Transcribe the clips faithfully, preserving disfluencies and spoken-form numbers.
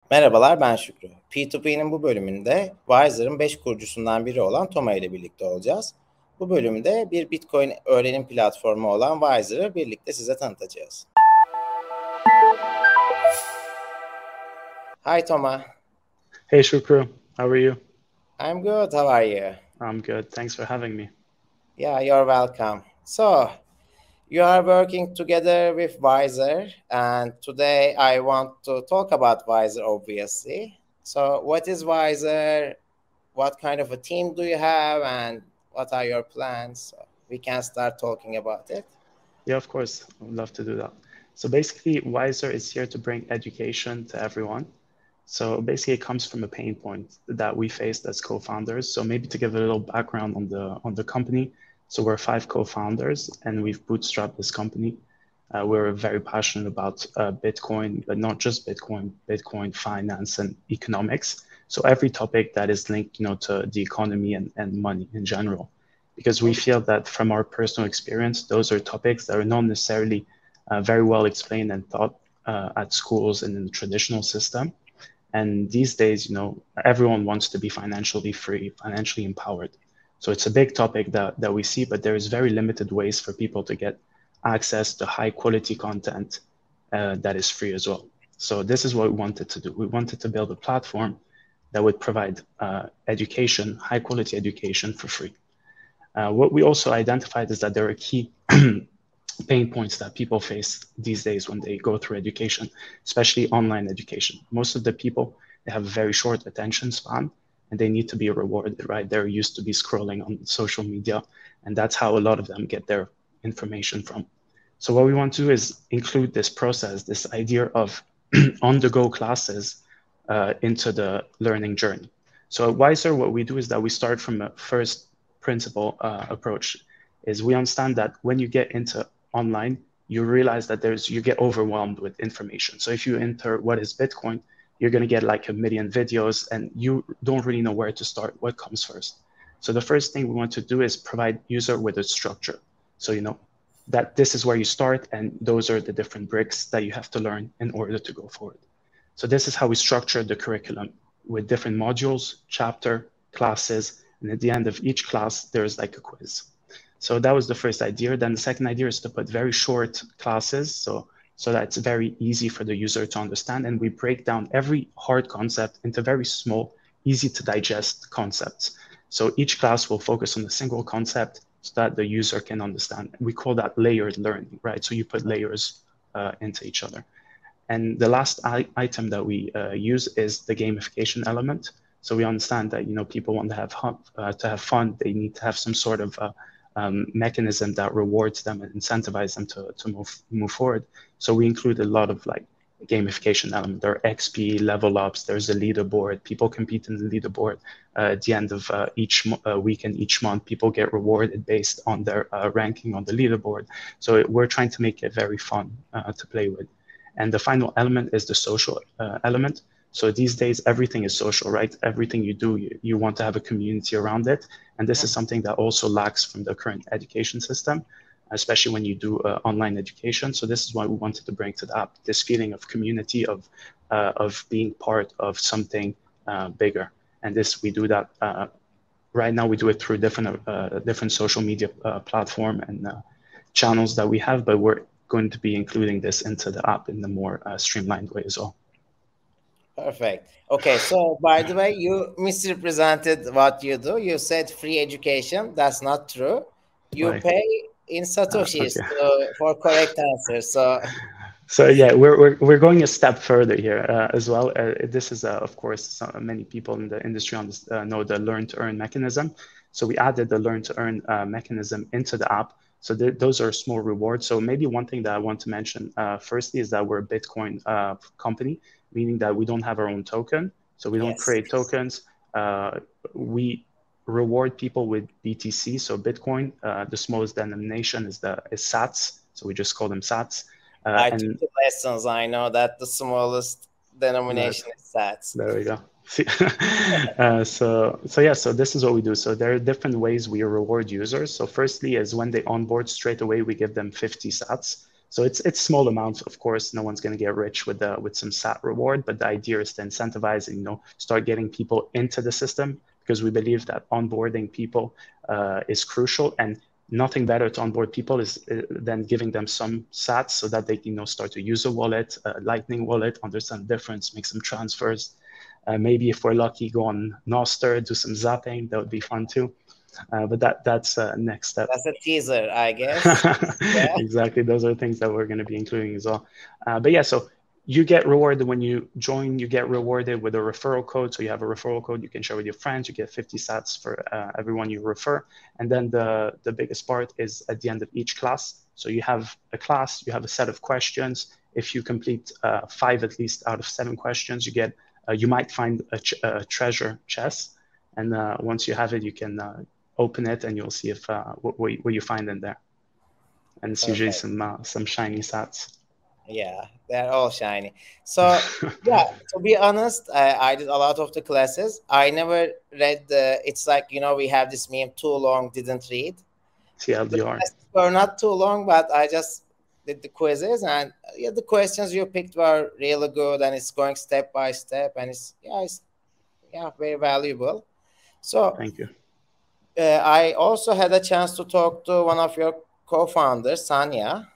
Merhabalar, ben Şükrü. P iki P'nin bu bölümünde Wiser'ın beş kurucusundan biri olan Toma ile birlikte olacağız. Bu bölümde bir Bitcoin öğrenim platformu olan Wiser'ı birlikte size tanıtacağız. Hi Toma. Hey Shukru, how are you? I'm good, how are you? I'm good, thanks for having me. Yeah, you're welcome. So, you are working together with Wiser, and today I want to talk about Wiser, obviously. So, what is Wiser? What kind of a team do you have, and what are your plans? So we can start talking about it. Yeah, of course, I would love to do that. So basically, Wiser is here to bring education to everyone. So basically, it comes from a pain point that we faced as co-founders. So maybe to give a little background on the on the company. So we're five co-founders, and we've bootstrapped this company. Uh, we're very passionate about uh, Bitcoin, but not just Bitcoin, Bitcoin finance and economics. So every topic that is linked, you know, to the economy and, and money in general, because we feel that from our personal experience, those are topics that are not necessarily uh, very well explained and taught uh, at schools and in the traditional system. And these days, you know, everyone wants to be financially free, financially empowered. So it's a big topic that, that we see, but there is very limited ways for people to get access to high quality content uh, that is free as well. So this is what we wanted to do. We wanted to build a platform that would provide uh, education, high quality education for free. Uh, what we also identified is that there are key pain points that people face these days when they go through education, especially online education. Most of the people, they have a very short attention span and they need to be rewarded, right? They're used to be scrolling on social media, and that's how a lot of them get their information from. So what we want to do is include this process, this idea of on-the-go classes uh, into the learning journey. So at Wiser, what we do is that we start from a first principle uh, approach. Is we understand that when you get into online, you realize that there's you get overwhelmed with information. So if you enter what is Bitcoin, you're going to get like a million videos and you don't really know where to start, what comes first. So the first thing we want to do is provide user with a structure. So, you know, that this is where you start and those are the different bricks that you have to learn in order to go forward. So this is how we structure the curriculum with different modules, chapter, classes, and at the end of each class, there's like a quiz. So that was the first idea. Then the second idea is to put very short classes, so so that it's very easy for the user to understand. And we break down every hard concept into very small, easy to digest concepts. So each class will focus on a single concept so that the user can understand. We call that layered learning, right? So you put layers uh, into each other. And the last item that we uh, use is the gamification element. So we understand that, you know, people want to have uh, to have fun. They need to have some sort of uh, um, mechanism that rewards them and incentivize them to, to move, move forward. So we include a lot of like gamification element. There are X P level ups, there's a leaderboard, people compete in the leaderboard. Uh, at the end of uh, each uh, week and each month, people get rewarded based on their uh, ranking on the leaderboard. So it, we're trying to make it very fun uh, to play with. And the final element is the social uh, element. So these days, everything is social, right? Everything you do, you, you want to have a community around it. And this is something that also lacks from the current education system, especially when you do uh, online education. So this is why we wanted to bring to the app, this feeling of community, of, uh, of being part of something uh, bigger. And this, we do that uh, right now, we do it through different, uh, different social media uh, platform and uh, channels that we have, but we're going to be including this into the app in a more uh, streamlined way as well. Perfect. Okay, so by the way, you misrepresented what you do. You said free education. That's not true. You Right. pay in Satoshis Uh, okay. to, for correct answer. So, so yeah, we're, we're, we're going a step further here uh, as well. Uh, this is, uh, of course, some, many people in the industry on this, uh, know the learn to earn mechanism. So we added the learn to earn uh, mechanism into the app. So th those are small rewards. So maybe one thing that I want to mention uh, firstly is that we're a Bitcoin uh, company, meaning that we don't have our own token. So we don't yes. create tokens. Uh, we reward people with B T C. So Bitcoin, uh, the smallest denomination is the is sats. So we just call them sats. Uh, I and took the lessons. I know that the smallest denomination right, is sats. there we go. uh, so, so yeah, so this is what we do. So there are different ways we reward users. So firstly is when they onboard straight away, we give them fifty sats. So it's it's small amounts, of course. No one's going to get rich with the, with some sat reward, but the idea is to incentivize and, you know, start getting people into the system, because we believe that onboarding people uh, is crucial, and nothing better to onboard people is uh, than giving them some sats so that they can, you know, start to use a wallet, a Lightning wallet, understand the difference, make some transfers. Uh, maybe if we're lucky, go on Nostr, do some zapping. That would be fun too. Uh, but that that's uh, next step. That's a teaser, I guess. Yeah. Exactly. Those are things that we're going to be including as well. Uh, but yeah, so you get rewarded when you join, you get rewarded with a referral code. So you have a referral code you can share with your friends. You get fifty sats for uh, everyone you refer. And then the, the biggest part is at the end of each class. So you have a class, you have a set of questions. If you complete uh, five at least out of seven questions, you get, uh, you might find a, a treasure chest. And uh, once you have it, you can uh, open it and you'll see if uh, what, what you find in there. And it's Perfect. usually some uh, some shiny sats. Yeah, they're all shiny. So yeah, to be honest, I, I did a lot of the classes. I never read the. It's like, you know, we have this meme: too long, didn't read. The T L D R. classes were not too long, but I just did the quizzes, and yeah, the questions you picked were really good, and it's going step by step, and it's yeah, it's yeah, very valuable. So Thank you. uh, I also had a chance to talk to one of your co-founders, Sanya.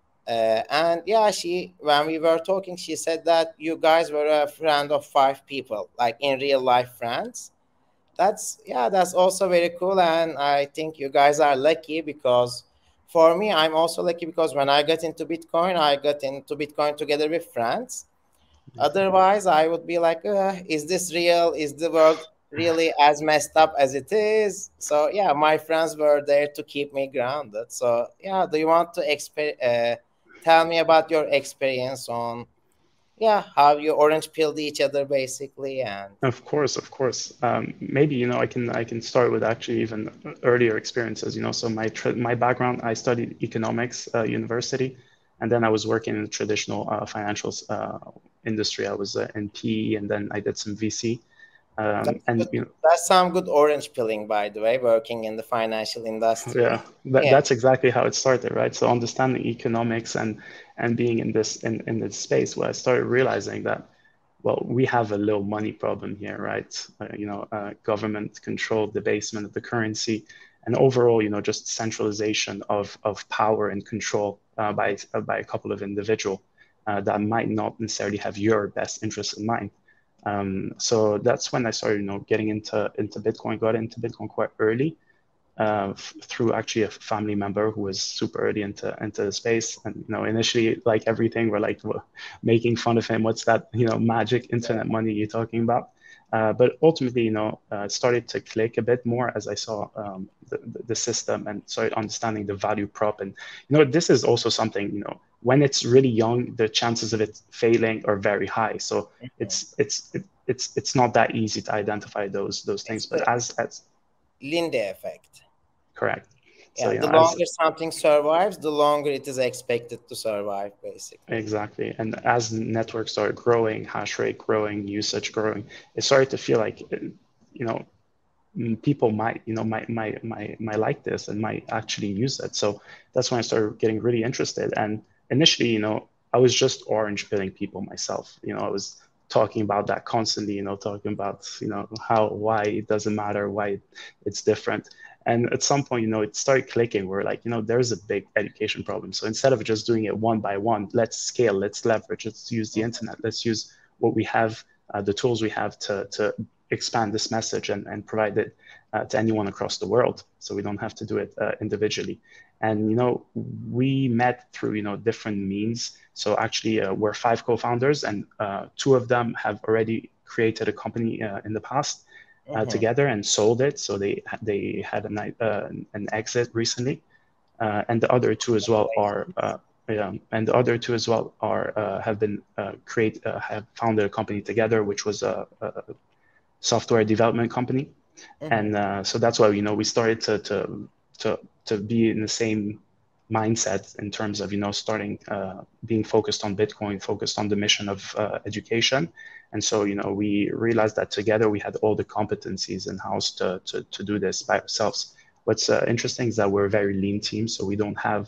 Uh, and yeah, she when we were talking, she said that you guys were a friend of five people, like in real life friends. That's yeah, that's also very cool, and I think you guys are lucky because for me, I'm also lucky because when I got into Bitcoin, I got into Bitcoin together with friends. Otherwise, I would be like, uh, is this real? Is the world really as messed up as it is? So yeah, my friends were there to keep me grounded. So yeah, do you want to exper- uh, tell me about your experience on yeah how you orange pilled each other basically and Of course, of course. Um, maybe, you know, I can I can start with actually even earlier experiences. You know, so my tra- my background, I studied economics, uh, university, and then I was working in the traditional uh, financial uh, industry. I was uh, in P E, and then I did some V C. Um, that's and good. you know, That's some good orange pilling, by the way, working in the financial industry. yeah, that, Yeah. that's exactly how it started, right? So understanding economics and and being in this in, in this space where I started realizing that, well, we have a low money problem here, right? Uh, you know, uh, government controlled debasement of the currency, and overall, you know, just centralization of of power and control uh, by uh, by a couple of individual uh, that might not necessarily have your best interest in mind. Um, so that's when I started, you know, getting into into Bitcoin. Got into Bitcoin quite early uh, through actually a family member who was super early into into the space. And you know, initially, like everything, we're like making fun of him. What's that? You know, magic internet money you're talking about? Uh, but ultimately, you know, uh, it started to click a bit more as I saw um, the, the system and started understanding the value prop. And you know, this is also something, you know, when it's really young, the chances of it failing are very high. So Mhm. it's it's it, it's it's not that easy to identify those those things. It's But the as as Linde effect. correct. So, Yeah, you know, the as longer something survives, the longer it is expected to survive, basically. exactly, and as networks started growing, hash rate growing, usage growing, it started to feel like, you know, people might, you know, might might might might like this and might actually use it. So that's when I started getting really interested. And initially, you know, I was just orange pilling people myself. You know, I was talking about that constantly, you know, talking about, you know, how, why it doesn't matter, why it's different. And at some point, you know, it started clicking. We're like, you know, there's a big education problem. So instead of just doing it one by one, let's scale, let's leverage, let's use the Mhm. internet, let's use what we have, uh, the tools we have to, to expand this message and, and provide it uh, to anyone across the world. So we don't have to do it uh, individually. And, you know, we met through, you know, different means. So actually uh, we're five co-founders and uh, two of them have already created a company uh, in the past uh, Mhm. together and sold it. So they they had an, uh, an exit recently. Uh, and the other two as well are uh, yeah, and the other two as well are uh, have been uh, create uh, have founded a company together, which was a, a software development company. Mhm. And uh, so that's why, you know, we started to to to to be in the same mindset in terms of, you know, starting uh, being focused on Bitcoin, focused on the mission of uh, education. And so, you know, we realized that together we had all the competencies in house to, to to do this by ourselves. What's uh, interesting is that we're a very lean team, so we don't have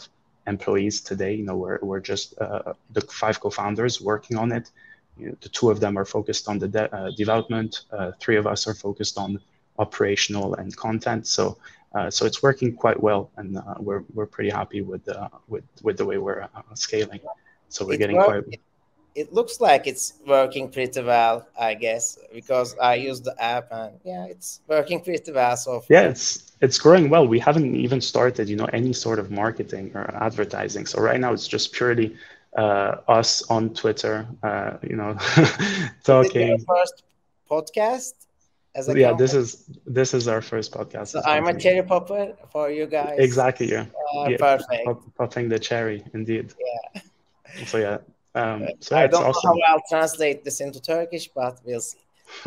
employees today. You know, we're, we're just uh, the five co-founders working on it. You know, the two of them are focused on the de uh, development. Uh, three of us are focused on operational and content. So, uh, so it's working quite well, and uh, we're we're pretty happy with uh, with with the way we're uh, scaling. So we're It getting work. quite. It, it looks like it's working pretty well, I guess, because I use the app and yeah, it's working pretty well so Yeah, far. it's it's growing well. We haven't even started, you know, any sort of marketing or advertising. So right now it's just purely uh, us on Twitter, uh, you know, Is it your talking. first podcast as a Yeah, this company? is this is our first podcast So as a I'm a company. cherry popper for you guys. Exactly, yeah, Uh, yeah, perfect. pop, popping the cherry, indeed. Yeah. So yeah, um, so yeah, I it's don't know how awesome. I'll translate this into Turkish, but we'll see.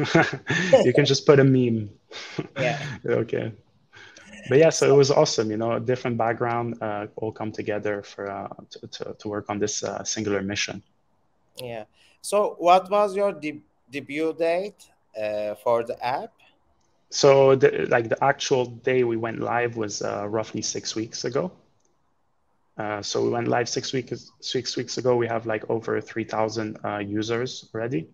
You can just put a meme. Yeah. Okay. But yeah, so it So, was awesome, you know, a different background, uh, all come together for uh, to, to, to work on this uh, singular mission. yeah. So what was your de debut date uh, for the app? So the, like the actual day we went live was uh, roughly six weeks ago. Uh, so we went live six weeks six weeks ago. We have like over three thousand uh, users already.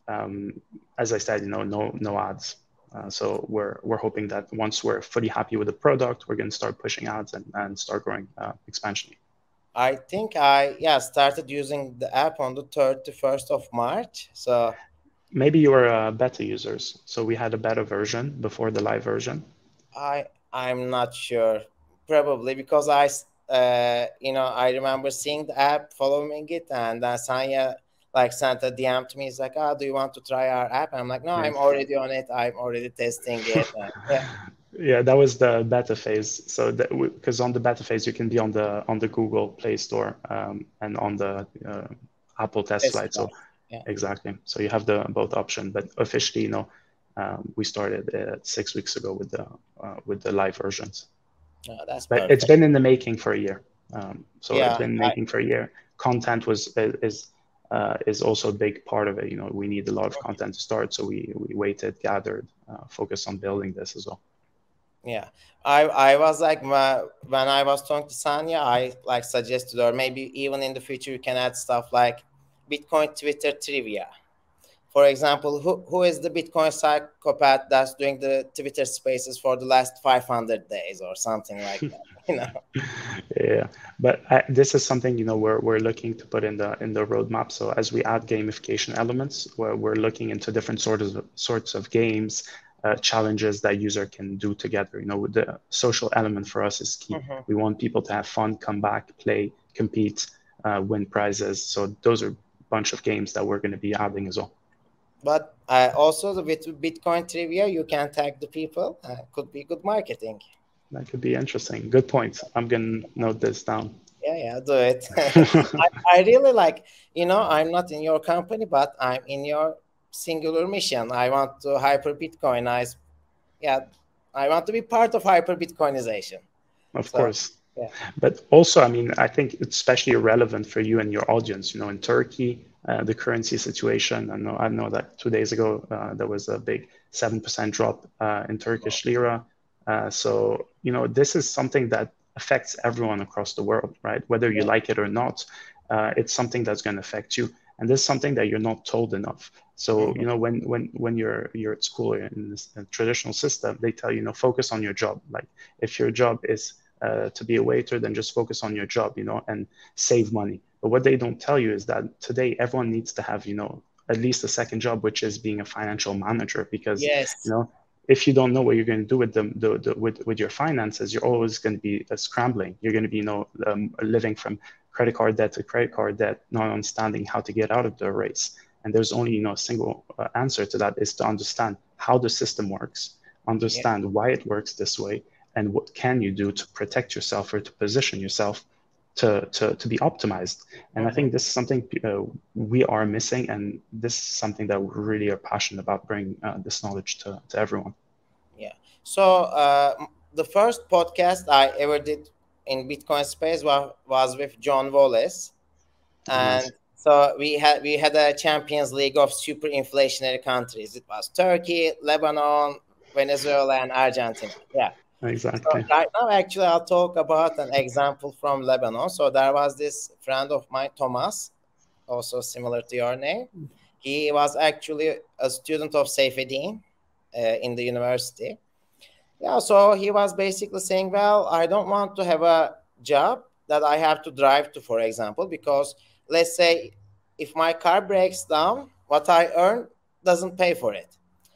Um, as I said, you know, no no ads. Uh, so we're we're hoping that once we're fully happy with the product, we're going to start pushing ads and, and start growing uh, expansion. I think I yeah started using the app on the thirty-first of March. So Maybe you were uh, beta users. So we had a beta version before the live version. I I'm not sure. Probably because I s- uh you know I remember seeing the app, following it, and then Sanya like sent a D M to me. He's like, "Oh, do you want to try our app?" And I'm like, "No, Yeah. I'm already on it. I'm already testing it." And yeah, Yeah, that was the beta phase. So that because on the beta phase you can be on the on the Google Play Store um, and on the uh, Apple test test flight. So drive. Yeah, exactly. So you have the both option. But officially, you know, um, we started uh, six weeks ago with the uh, with the live versions. no, that's But it's perfect. been in the making for a year. Um, so it's Yeah, been I, making for a year. Content was is uh, is also a big part of it. You know, we need a lot of content to start, so we we waited, gathered, uh, focused on building this as well. yeah. I I was like my, when I was talking to Sanya, I like suggested, or maybe even in the future you can add stuff like Bitcoin Twitter trivia. For example, who, who is the Bitcoin psychopath that's doing the Twitter spaces for the last five hundred days or something like that, you know? Yeah, but I, this is something, you know, we're we're looking to put in the in the roadmap. So as we add gamification elements, where we're looking into different sorts of sorts of games, uh, challenges that user can do together. You know, the social element for us is key. Mhm. We want people to have fun, come back, play, compete, uh, win prizes. So those are a bunch of games that we're going to be adding as well. But uh, also the, with Bitcoin trivia, you can tag the people. Uh, could be good marketing. That could be interesting. Good point. I'm going to note this down. Yeah, yeah, do it. I, I really like, you know, I'm not in your company, but I'm in your singular mission. I want to hyper Bitcoinize. Yeah, I want to be part of hyper Bitcoinization. Of So, course. yeah. But also, I mean, I think it's especially relevant for you and your audience. You know, in Turkey, uh, the currency situation. I know, I know that two days ago uh, there was a big seven percent drop uh, in Turkish lira. Uh, so, you know, this is something that affects everyone across the world, right? Whether you Yeah. like it or not, uh, it's something that's going to affect you. And this is something that you're not told enough. So, Mhm. you know, when when when you're you're at school in this uh, traditional system, they tell you, you know, focus on your job. Like if your job is uh, to be a waiter, then just focus on your job, you know, and save money. But what they don't tell you is that today everyone needs to have, you know, at least a second job, which is being a financial manager, because, you Yes. know, if you don't know what you're going to do with them, the, the, with, with your finances, you're always going to be uh, scrambling. You're going to be, you know, um, living from credit card debt to credit card debt, not understanding how to get out of the race. And there's only, you know, a single uh, answer to that is to understand how the system works, Yeah. understand why it works this way, and what can you do to protect yourself or to position yourself to, to, to be optimized. And I Mhm. think this is something uh, we are missing, and this is something that we really are passionate about bringing uh, this knowledge to, to everyone. Yeah. So uh, m- the first podcast I ever did in Bitcoin space was, was with John Wallace, Oh, nice. and so we had we had a Champions League of super inflationary countries. It was Turkey, Lebanon, Venezuela, and Argentina. Yeah. So Exactly. right now, actually, I'll talk about an example from Lebanon. So there was this friend of mine, Thomas, also similar to your name. He was actually a student of Seyfedin uh, in the university. Yeah, so he was basically saying, well, I don't want to have a job that I have to drive to, for example, because let's say if my car breaks down, what I earn doesn't pay for it.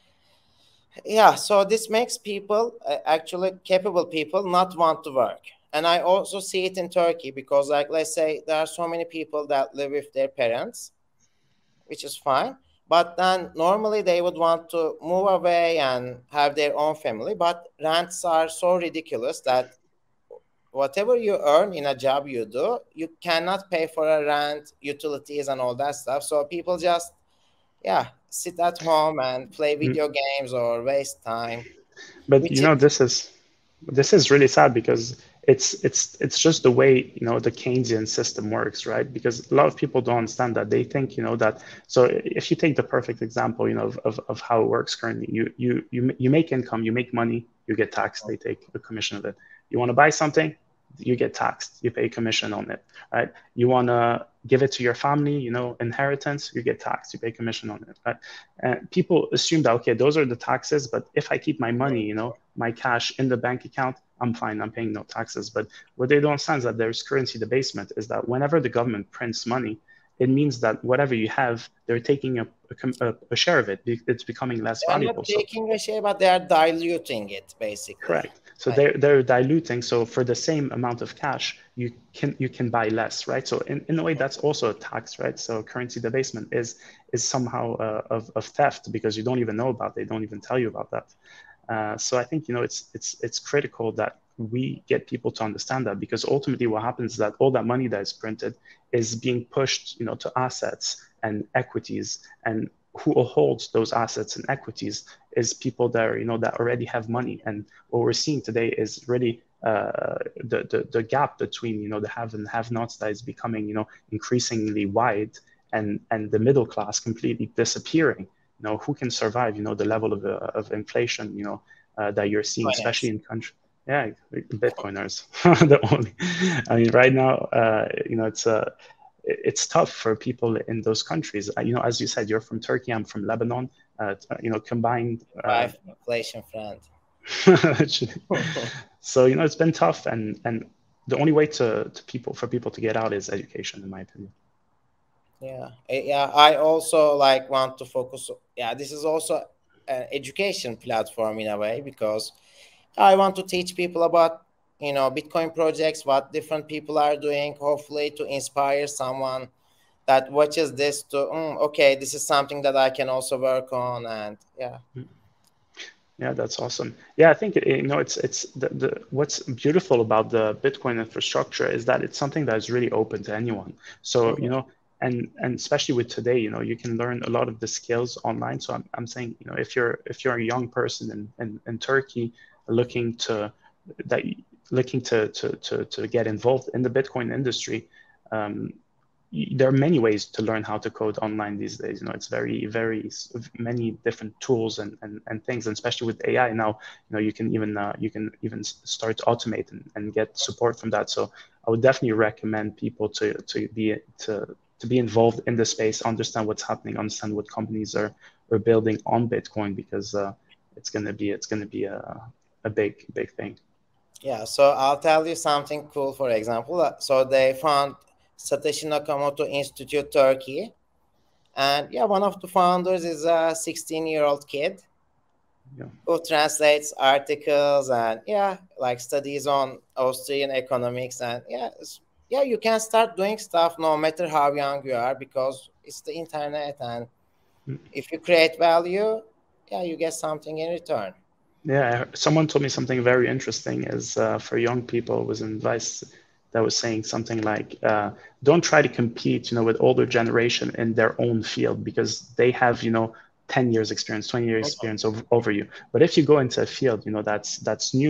Yeah, so this makes people, uh, actually capable people, not want to work. And I also see it in Turkey because, like, let's say there are so many people that live with their parents, which is fine. But then normally they would want to move away and have their own family. But rents are so ridiculous that whatever you earn in a job you do, you cannot pay for a rent, utilities, and all that stuff. So people just, yeah, sit at home and play Mm. video games or waste time, But you which know, is this is this is really sad because it's it's it's just the way, you know, the Keynesian system works, right? Because a lot of people don't understand that. They think, you know, that, so if you take the perfect example, you know, of, of, of how it works currently, you you you you make income, you make money, you get taxed, they take a commission of it. You want to buy something, you get taxed, you pay commission on it, right? You want to give it to your family, you know, inheritance, you get taxed, you pay commission on it, right? And people assume that, okay, those are the taxes, but if I keep my money, you know, my cash in the bank account, I'm fine, I'm paying no taxes. But what they don't understand is that there's currency debasement, is that whenever the government prints money, it means that whatever you have, they're taking a, a, a share of it. It's becoming less they're not valuable. So taking a share, but they are diluting it basically. correct. So Like, they're they're diluting. So for the same amount of cash, you can you can buy less, right? So in, in a way, that's also a tax, right? So currency debasement is is somehow uh, of, of theft because you don't even know about it. They don't even tell you about that. Uh, so I think, you know, it's it's it's critical that we get people to understand that, because ultimately what happens is that all that money that is printed is being pushed, you know, to assets and equities, and who holds those assets and equities is people that are, you know, that already have money. And what we're seeing today is really uh, the, the the gap between, you know, the have and have-nots that is becoming, you know, increasingly wide, and and the middle class completely disappearing. You know, who can survive, you know, the level of, uh, of inflation, you know, uh, that you're seeing, especially finance. in countries. Yeah, Bitcoiners, the only. I mean, right now, uh, you know, it's uh, it's tough for people in those countries. Uh, you know, as you said, you're from Turkey, I'm from Lebanon. Uh, you know, combined. Uh, Wife, inflation friend. so you know, it's been tough, and and the only way to to people for people to get out is education, in my opinion. Yeah, Eh, yeah. I also like want to focus. Yeah, this is also an education platform in a way because I want to teach people about, you know, Bitcoin projects, what different people are doing. Hopefully, to inspire someone that watches this to, mm, okay, this is something that I can also work on, and yeah. Yeah, that's awesome. Yeah, I think you know it's it's the, the what's beautiful about the Bitcoin infrastructure is that it's something that is really open to anyone. So you Mhm. know, and and especially with today, you know, you can learn a lot of the skills online. So I'm I'm saying, you know, if you're if you're a young person in in, in Turkey looking to that looking to to to to get involved in the Bitcoin industry, um, there are many ways to learn how to code online these days. You know, it's very, very many different tools and, and, and things, and especially with A I now, you know, you can even uh, you can even start to automate and, and get support from that. So I would definitely recommend people to to be to to be involved in the space, understand what's happening, understand what companies are are building on Bitcoin, because uh, it's gonna be it's gonna be a a big big thing. Yeah, so I'll tell you something cool. For example, Uh, so they found Satoshi Nakamoto Institute Turkey, and yeah, one of the founders is a sixteen-year-old kid Yeah. who translates articles and yeah, like studies on Austrian economics, and yeah, it's, yeah, you can start doing stuff no matter how young you are because it's the internet, and if you create value, yeah, you get something in return. Yeah, someone told me something very interesting is uh, for young people was an advice that was saying something like, uh, don't try to compete, you know, with older generation in their own field because they have, you know, ten years experience, twenty years Mhm. experience over, over you. But if you go into a field, you know, that's that's new,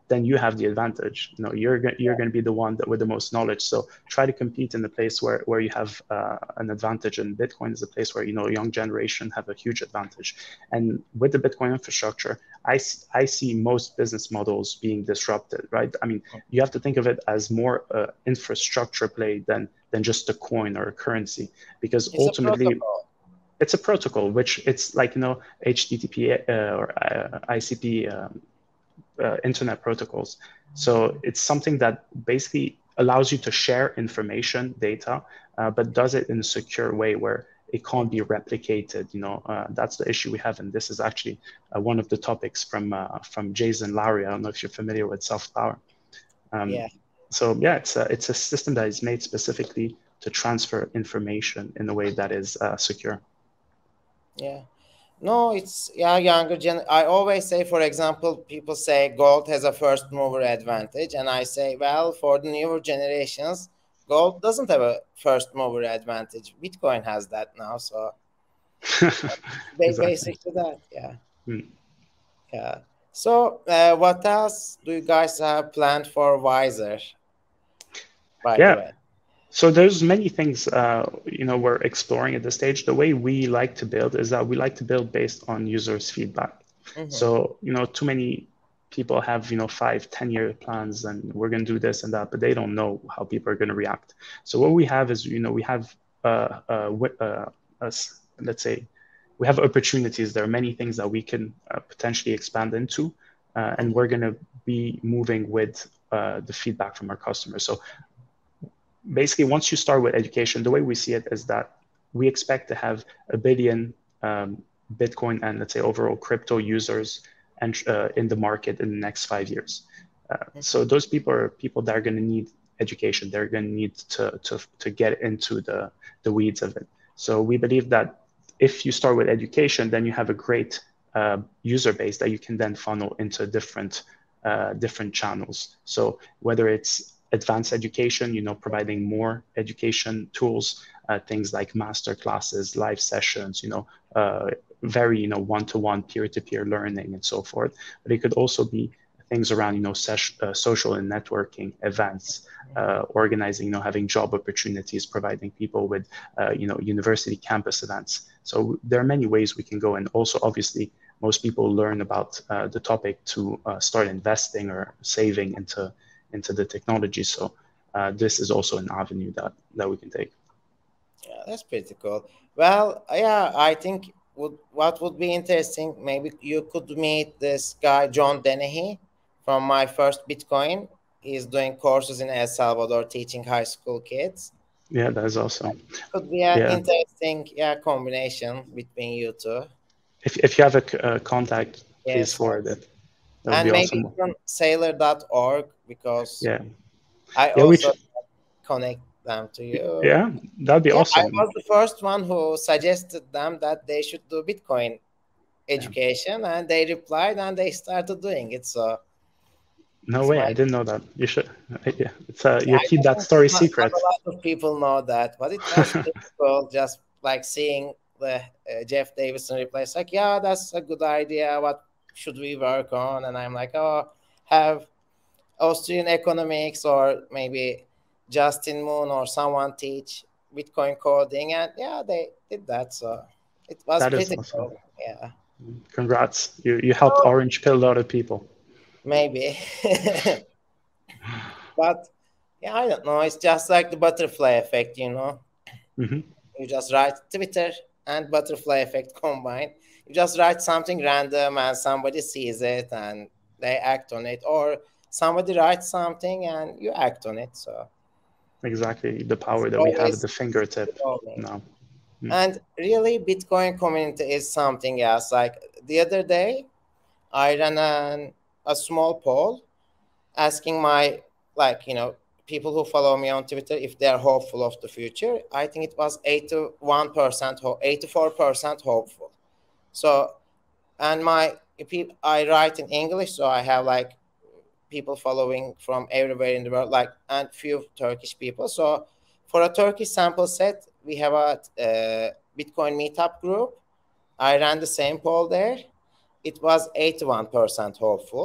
then you have the advantage. You know, you're go- you're going to be the one that with the most knowledge. So try to compete in the place where where you have uh, an advantage. And Bitcoin is a place where, you know, young generation have a huge advantage. And with the Bitcoin infrastructure, I I see most business models being disrupted. Right? I mean, you have to think of it as more uh, infrastructure play than than just a coin or a currency, because It's a ultimately protocol. it's a protocol, which it's like, you know, H T T P uh, or uh, I C P um, uh, internet protocols. So it's something that basically allows you to share information, data, uh, but does it in a secure way where it can't be replicated. You know, uh, that's the issue we have, and this is actually uh, one of the topics from uh, from Jason Lowry. I don't know if you're familiar with Soft Power. Um, Yeah. so yeah, it's a, it's a system that is made specifically to transfer information in a way that is uh, secure. Yeah. No, it's yeah, younger gen. I always say, for example, people say gold has a first mover advantage, and I say, well, for the newer generations, gold doesn't have a first mover advantage. Bitcoin has that now, so ba- Exactly. basic to that, yeah, Mm. yeah. So, uh, what else do you guys have planned for Wiser? By the Yeah. way. So there's many things, uh, you know, we're exploring at this stage. The way we like to build is that we like to build based on users' feedback. Mm-hmm. So, you know, too many people have, you know, five, ten year plans and we're going to do this and that, but they don't know how people are going to react. So what we have is, you know, we have, uh, uh, uh, us, let's say, we have opportunities. There are many things that we can uh, potentially expand into, uh, and we're going to be moving with uh, the feedback from our customers. So basically, once you start with education, the way we see it is that we expect to have a billion um, Bitcoin and, let's say, overall crypto users and uh, in the market in the next five years. Uh, so those people are people that are going to need education. They're going to need to, to, to get into the, the weeds of it. So we believe that if you start with education, then you have a great uh, user base that you can then funnel into different uh, different channels. So whether it's advanced education, you know, providing more education tools, uh, things like master classes, live sessions, you know, uh, very, you know, one-to-one peer-to-peer learning and so forth. But it could also be things around, you know, ses- uh, social and networking events, uh, organizing, you know, having job opportunities, providing people with, uh, you know, university campus events. So there are many ways we can go. And also, obviously, most people learn about uh, the topic to uh, start investing or saving into into the technology. So uh, this is also an avenue that that we can take. Yeah, that's pretty cool. Well, yeah, I think would what would be interesting, maybe you could meet this guy John Dennehy from My First Bitcoin. He's doing courses in El Salvador teaching high school kids. Yeah, that is awesome. Could be an Yeah, interesting, yeah, combination between you two. if if you have a, a contact, please Yes, forward yes. it. That would And be maybe awesome. even sailor dot org because Yeah, I yeah, we also connect them to you. yeah, that'd be Yeah, I awesome. was the first one who suggested them that they should do Bitcoin Yeah. education, and they replied and they started doing it. So No it's way, my, I didn't know that. You should. Yeah, it's uh, yeah, you I keep that think story not, not a secret. lot of people know that, but it was pretty cool just like seeing the uh, Jeff Davison reply. It's like, yeah, that's a good idea. What should we work on? And I'm like, oh, have Austrian economics or maybe Justin Moon or someone teach Bitcoin coding. And yeah, they did that. So it was That is pretty awesome. cool. Yeah, Congrats. You you helped so orange pill a lot of people. maybe. But yeah, I don't know. It's just like the butterfly effect, you know. Hmm. You just write Twitter and butterfly effect combined. You just write something random and somebody sees it and they act on it, or somebody writes something and you act on it. So Exactly, the it's power that we have at always the fingertip evolving. now. Mm. And really, Bitcoin community is something else. Like the other day, I ran an, a small poll asking my, like, you know, people who follow me on Twitter if they're hopeful of the future. I think it was eighty-one percent, ho- eighty-four percent hopeful. So, and my, peop- I write in English, so I have like people following from everywhere in the world, like, and few Turkish people. So, for a Turkish sample set, we have a uh, Bitcoin meetup group. I ran the same poll there. It was eighty-one percent hopeful.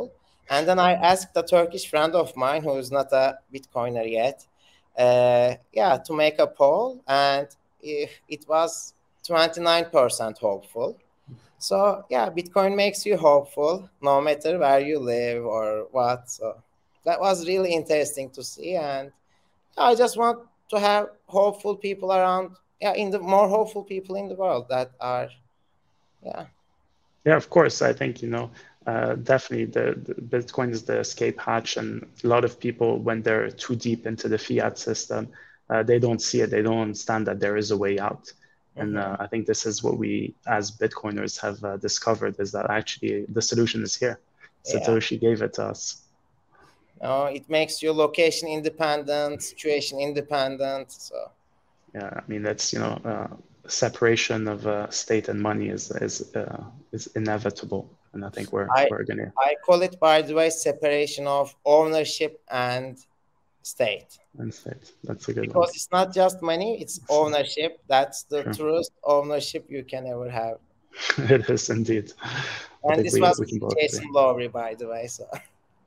And then I asked a Turkish friend of mine who is not a Bitcoiner yet, uh, yeah, to make a poll, and it, it was twenty-nine percent hopeful. So yeah, Bitcoin makes you hopeful no matter where you live or what. So that was really interesting to see, and I just want to have hopeful people around. Yeah, in the more hopeful people in the world that are, yeah. Yeah, of course. I think, you know, uh, definitely the, the Bitcoin is the escape hatch, and a lot of people, when they're too deep into the fiat system, uh, they don't see it. They don't understand that there is a way out. And uh, I think this is what we, as Bitcoiners, have uh, discovered, is that actually the solution is here. Yeah. Satoshi gave it to us. Uh, it makes you location independent, situation independent. So yeah, I mean, that's, you know, uh, separation of uh, state and money is is uh, is inevitable, and I think we're I, we're gonna. I call it, by the way, separation of ownership and state. And state. That's a good because one. It's not just money; it's ownership. That's the Sure. truest ownership you can ever have. It is indeed. I And think this we, was we can both Jason agree. Lowry, by the way. So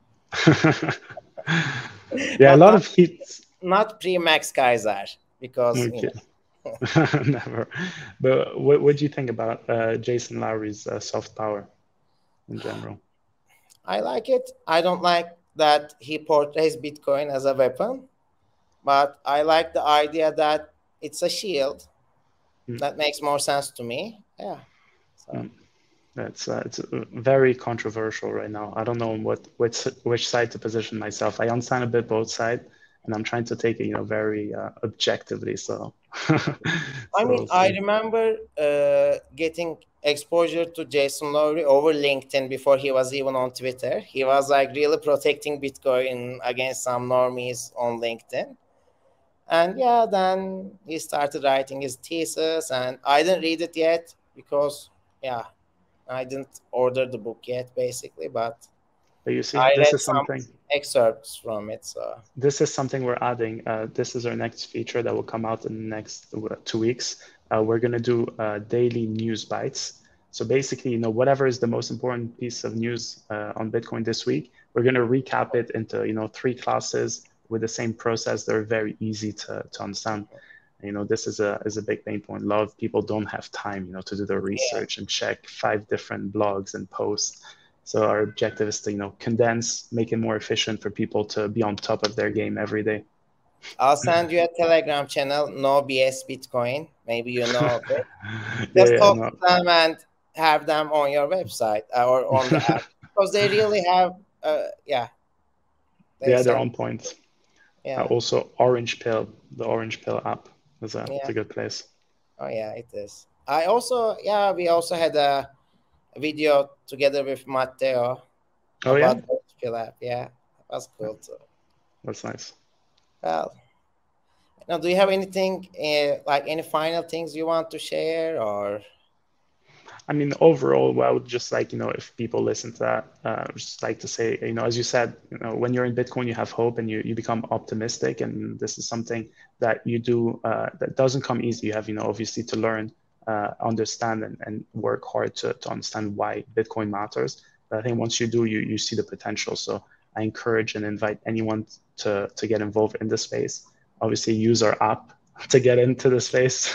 yeah, a lot not, of heat. Not pre-Max Kaiser, because Okay. you know. Never. But what what do you think about uh, Jason Lowry's uh, soft power in general? I like it. I don't like that he portrays Bitcoin as a weapon, but I like the idea that it's a shield. Mm. That makes more sense to me. Yeah. So. Mm. It's uh, it's very controversial right now. I don't know what which which side to position myself. I understand a bit both sides, and I'm trying to take it, you know, very uh, objectively. So, so I mean, we'll I remember uh, getting exposure to Jason Lowry over LinkedIn before he was even on Twitter. He was like really protecting Bitcoin against some normies on LinkedIn. And yeah, then he started writing his thesis, and I didn't read it yet because, yeah, I didn't order the book yet, basically. But, but you see, I this read is something. Some excerpts from it. So this is something we're adding. Uh, this is our next feature that will come out in the next two weeks. Uh, we're going to do uh, daily news bites. So basically, you know, whatever is the most important piece of news uh, on Bitcoin this week, we're going to recap it into, you know, three classes with the same process. They're very easy to, to understand. You know, this is a is a big pain point. A lot of people don't have time, you know, to do their research yeah. and check five different blogs and posts. So our objective is to, you know, condense, make it more efficient for people to be on top of their game every day. I'll send you a Telegram channel, No B S Bitcoin. Maybe you know of it. Just yeah, yeah, talk no. to them and have them on your website or on the app, because they really have, uh, yeah. They yeah, they're on point. Yeah. Uh, also, Orange Pill, the Orange Pill app is a, yeah. it's a good place. Oh yeah, it is. I also, yeah, we also had a video together with Matteo. Oh yeah. About the Pill app. Yeah, that was cool too. That's nice. Well, now, do you have anything uh, like any final things you want to share, or? I mean, overall, well, I would just like, you know, if people listen to that, uh, just like to say, you know, as you said, you know, when you're in Bitcoin, you have hope and you, you become optimistic. And this is something that you do uh, that doesn't come easy. You have, you know, obviously to learn, uh, understand and, and work hard to, to understand why Bitcoin matters. But I think once you do, you, you see the potential. So I encourage and invite anyone to, to get involved in the space. Obviously, use our app to get into the space.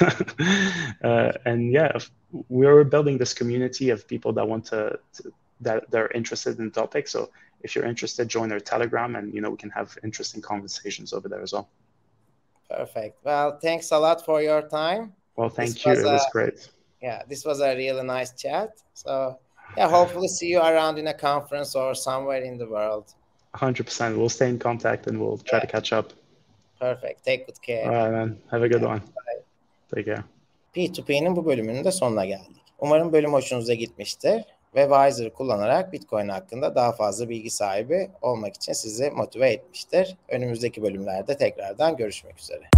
uh, and yeah, we're building this community of people that want to, to that they're interested in the topic. So if you're interested, join our Telegram, and you know we can have interesting conversations over there as well. Perfect. Well, thanks a lot for your time. Well, thank this you. Was it a, was great. Yeah, this was a really nice chat. So yeah, hopefully see you around in a conference or somewhere in the world. one hundred percent. We'll stay in contact and we'll try yeah. to catch up. Perfect. Take good care. All right, man. Have a good yeah. one. Bye. Take care. P iki P'nin bu bölümünün de sonuna geldik. Umarım bölüm hoşunuza gitmiştir ve Wiser'ı kullanarak Bitcoin hakkında daha fazla bilgi sahibi olmak için sizi motive etmiştir. Önümüzdeki bölümlerde tekrardan görüşmek üzere.